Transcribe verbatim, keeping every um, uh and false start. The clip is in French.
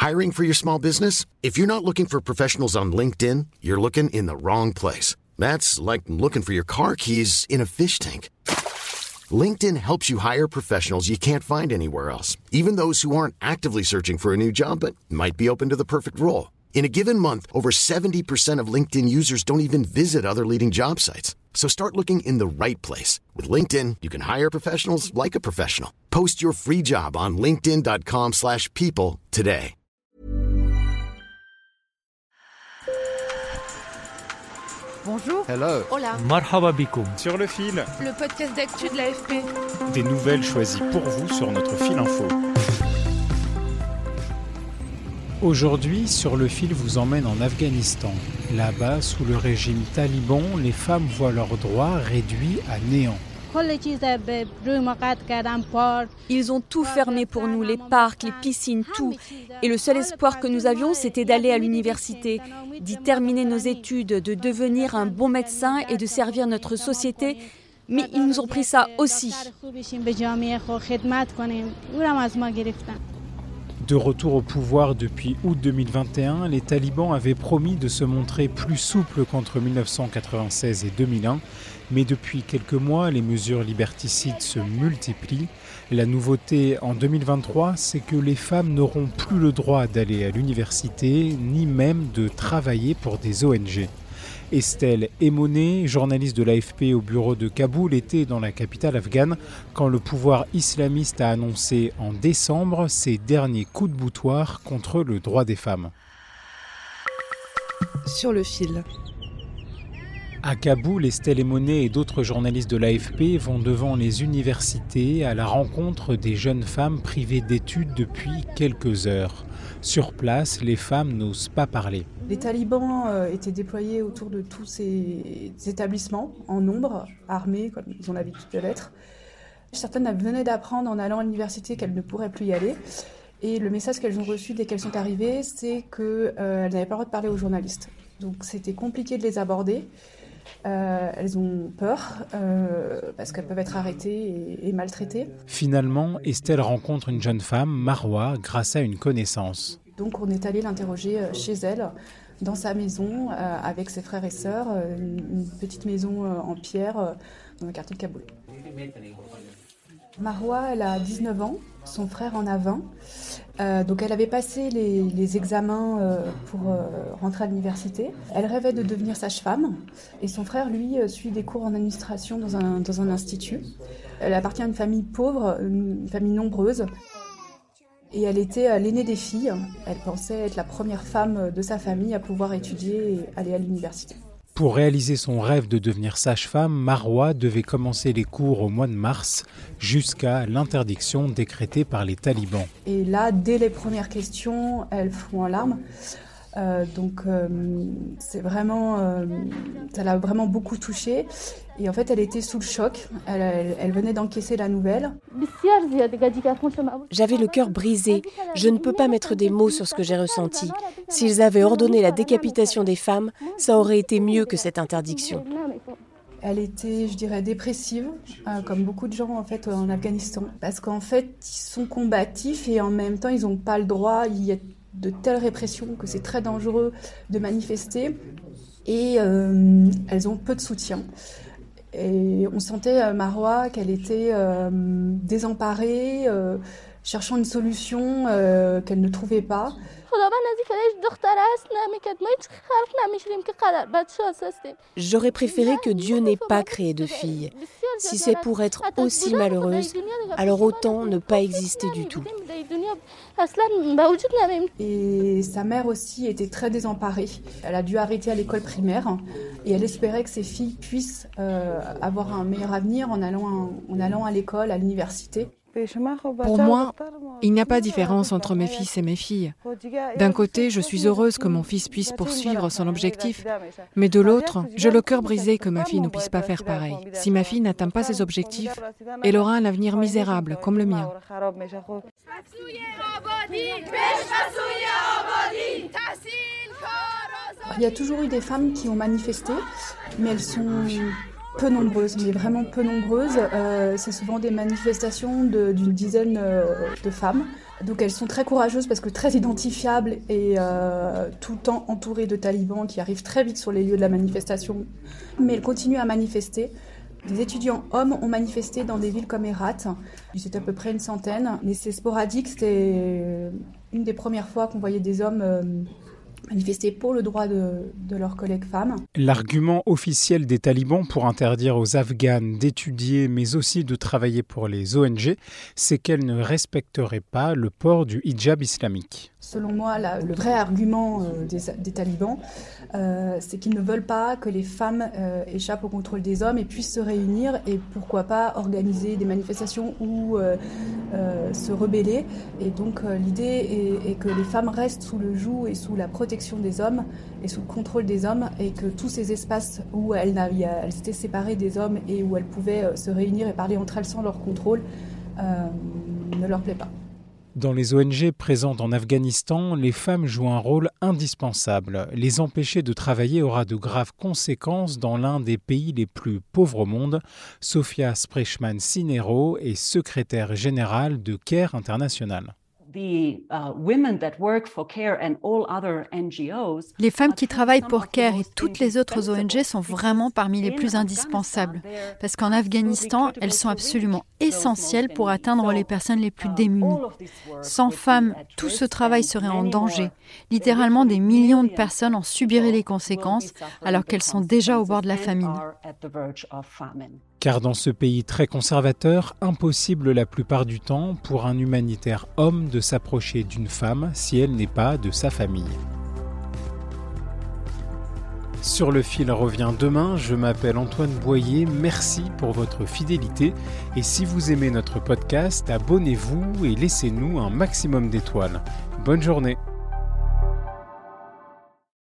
Hiring for your small business? If you're not looking for professionals on LinkedIn, you're looking in the wrong place. That's like looking for your car keys in a fish tank. LinkedIn helps you hire professionals you can't find anywhere else, even those who aren't actively searching for a new job but might be open to the perfect role. In a given month, over seventy percent of LinkedIn users don't even visit other leading job sites. So start looking in the right place. With LinkedIn, you can hire professionals like a professional. Post your free job on linkedin dot com slash people today. Bonjour. Hello. Hola. Marhaba bikoum. Sur le fil. Le podcast d'actu de l'A F P. Des nouvelles choisies pour vous sur notre fil info. Aujourd'hui, Sur le fil vous emmène en Afghanistan. Là-bas, sous le régime taliban, les femmes voient leurs droits réduits à néant. Ils ont tout fermé pour nous, les parcs, les piscines, tout. Et le seul espoir que nous avions, c'était d'aller à l'université, d'y terminer nos études, de devenir un bon médecin et de servir notre société. Mais ils nous ont pris ça aussi. De retour au pouvoir depuis août deux mille vingt et un, les talibans avaient promis de se montrer plus souples qu'entre dix-neuf cent quatre-vingt-seize et deux mille un, mais depuis quelques mois, les mesures liberticides se multiplient. La nouveauté en deux mille vingt-trois, c'est que les femmes n'auront plus le droit d'aller à l'université, ni même de travailler pour des O N G. Estelle Emoné, journaliste de l'A F P au bureau de Kaboul, était dans la capitale afghane quand le pouvoir islamiste a annoncé en décembre ses derniers coups de boutoir contre le droit des femmes. Sur le fil. À Kaboul, Estelle Emoné et d'autres journalistes de l'A F P vont devant les universités à la rencontre des jeunes femmes privées d'études depuis quelques heures. Sur place, les femmes n'osent pas parler. Les talibans euh, étaient déployés autour de tous ces établissements, en nombre, armés, comme ils ont l'habitude de l'être. Certaines venaient d'apprendre en allant à l'université qu'elles ne pourraient plus y aller. Et le message qu'elles ont reçu dès qu'elles sont arrivées, c'est qu'elles euh, n'avaient pas le droit de parler aux journalistes. Donc c'était compliqué de les aborder. Euh, elles ont peur euh, parce qu'elles peuvent être arrêtées et, et maltraitées. Finalement, Estelle rencontre une jeune femme, Marwa, grâce à une connaissance. Donc on est allé l'interroger chez elle, dans sa maison, euh, avec ses frères et sœurs, euh, une petite maison euh, en pierre euh, dans le quartier de Kaboul. Marwa, elle a dix-neuf ans, son frère en a vingt. Euh, donc elle avait passé les, les examens euh, pour euh, rentrer à l'université. Elle rêvait de devenir sage-femme et son frère, lui, euh, suit des cours en administration dans un, dans un institut. Elle appartient à une famille pauvre, une famille nombreuse. Et elle était euh, l'aînée des filles. Elle pensait être la première femme de sa famille à pouvoir étudier et aller à l'université. Pour réaliser son rêve de devenir sage-femme, Marwa devait commencer les cours au mois de mars jusqu'à l'interdiction décrétée par les talibans. Et là, dès les premières questions, elle fond en larmes. Euh, donc, euh, c'est vraiment, euh, ça l'a vraiment beaucoup touchée. Et en fait, elle était sous le choc. Elle, elle, elle venait d'encaisser la nouvelle. J'avais le cœur brisé. Je ne peux pas mettre des mots sur ce que j'ai ressenti. S'ils avaient ordonné la décapitation des femmes, ça aurait été mieux que cette interdiction. Elle était, je dirais, dépressive, euh, comme beaucoup de gens en fait en Afghanistan, parce qu'en fait, ils sont combatifs et en même temps, ils n'ont pas le droit. Il y a de telles répressions que c'est très dangereux de manifester et euh, elles ont peu de soutien. Et on sentait euh, Marwa qu'elle était euh, désemparée, euh, cherchant une solution euh, qu'elle ne trouvait pas. J'aurais préféré que Dieu n'ait pas créé de fille. Si c'est pour être aussi malheureuse, alors autant ne pas exister du tout. Et sa mère aussi était très désemparée. Elle a dû arrêter à l'école primaire et elle espérait que ses filles puissent euh, avoir un meilleur avenir en allant, à, en allant à l'école, à l'université. Pour moi, il n'y a pas de différence entre mes fils et mes filles. D'un côté, je suis heureuse que mon fils puisse poursuivre son objectif, mais de l'autre, j'ai le cœur brisé que ma fille ne puisse pas faire pareil. Si ma fille n'atteint pas ses objectifs, elle aura un avenir misérable, comme le mien. Il y a toujours eu des femmes qui ont manifesté, mais elles sont peu nombreuses, mais vraiment peu nombreuses. Euh, c'est souvent des manifestations de, d'une dizaine euh, de femmes. Donc elles sont très courageuses parce que très identifiables et euh, tout le temps entourées de talibans qui arrivent très vite sur les lieux de la manifestation. Mais elles continuent à manifester. Des étudiants hommes ont manifesté dans des villes comme Herat. C'était à peu près une centaine. Mais c'est sporadique. C'était une des premières fois qu'on voyait des hommes euh, manifester pour le droit de, de leurs collègues femmes. L'argument officiel des talibans pour interdire aux Afghanes d'étudier, mais aussi de travailler pour les O N G, c'est qu'elles ne respecteraient pas le port du hijab islamique. Selon moi, la, le vrai argument euh, des, des talibans, euh, c'est qu'ils ne veulent pas que les femmes euh, échappent au contrôle des hommes et puissent se réunir et pourquoi pas organiser des manifestations ou euh, euh, se rebeller. Et donc euh, l'idée est, est que les femmes restent sous le joug et sous la protection des hommes et sous le contrôle des hommes et que tous ces espaces où elles, elles s'étaient séparées des hommes et où elles pouvaient euh, se réunir et parler entre elles sans leur contrôle euh, ne leur plaît pas. Dans les O N G présentes en Afghanistan, les femmes jouent un rôle indispensable. Les empêcher de travailler aura de graves conséquences dans l'un des pays les plus pauvres au monde. Sofia Sprechman-Sinero est secrétaire générale de CARE International. Les femmes qui travaillent pour CARE et toutes les autres O N G sont vraiment parmi les plus indispensables, parce qu'en Afghanistan, elles sont absolument essentielles pour atteindre les personnes les plus démunies. Sans femmes, tout ce travail serait en danger. Littéralement, des millions de personnes en subiraient les conséquences, alors qu'elles sont déjà au bord de la famine. Car dans ce pays très conservateur, impossible la plupart du temps pour un humanitaire homme de s'approcher d'une femme si elle n'est pas de sa famille. Sur le fil revient demain, je m'appelle Antoine Boyer, merci pour votre fidélité et si vous aimez notre podcast, abonnez-vous et laissez-nous un maximum d'étoiles. Bonne journée.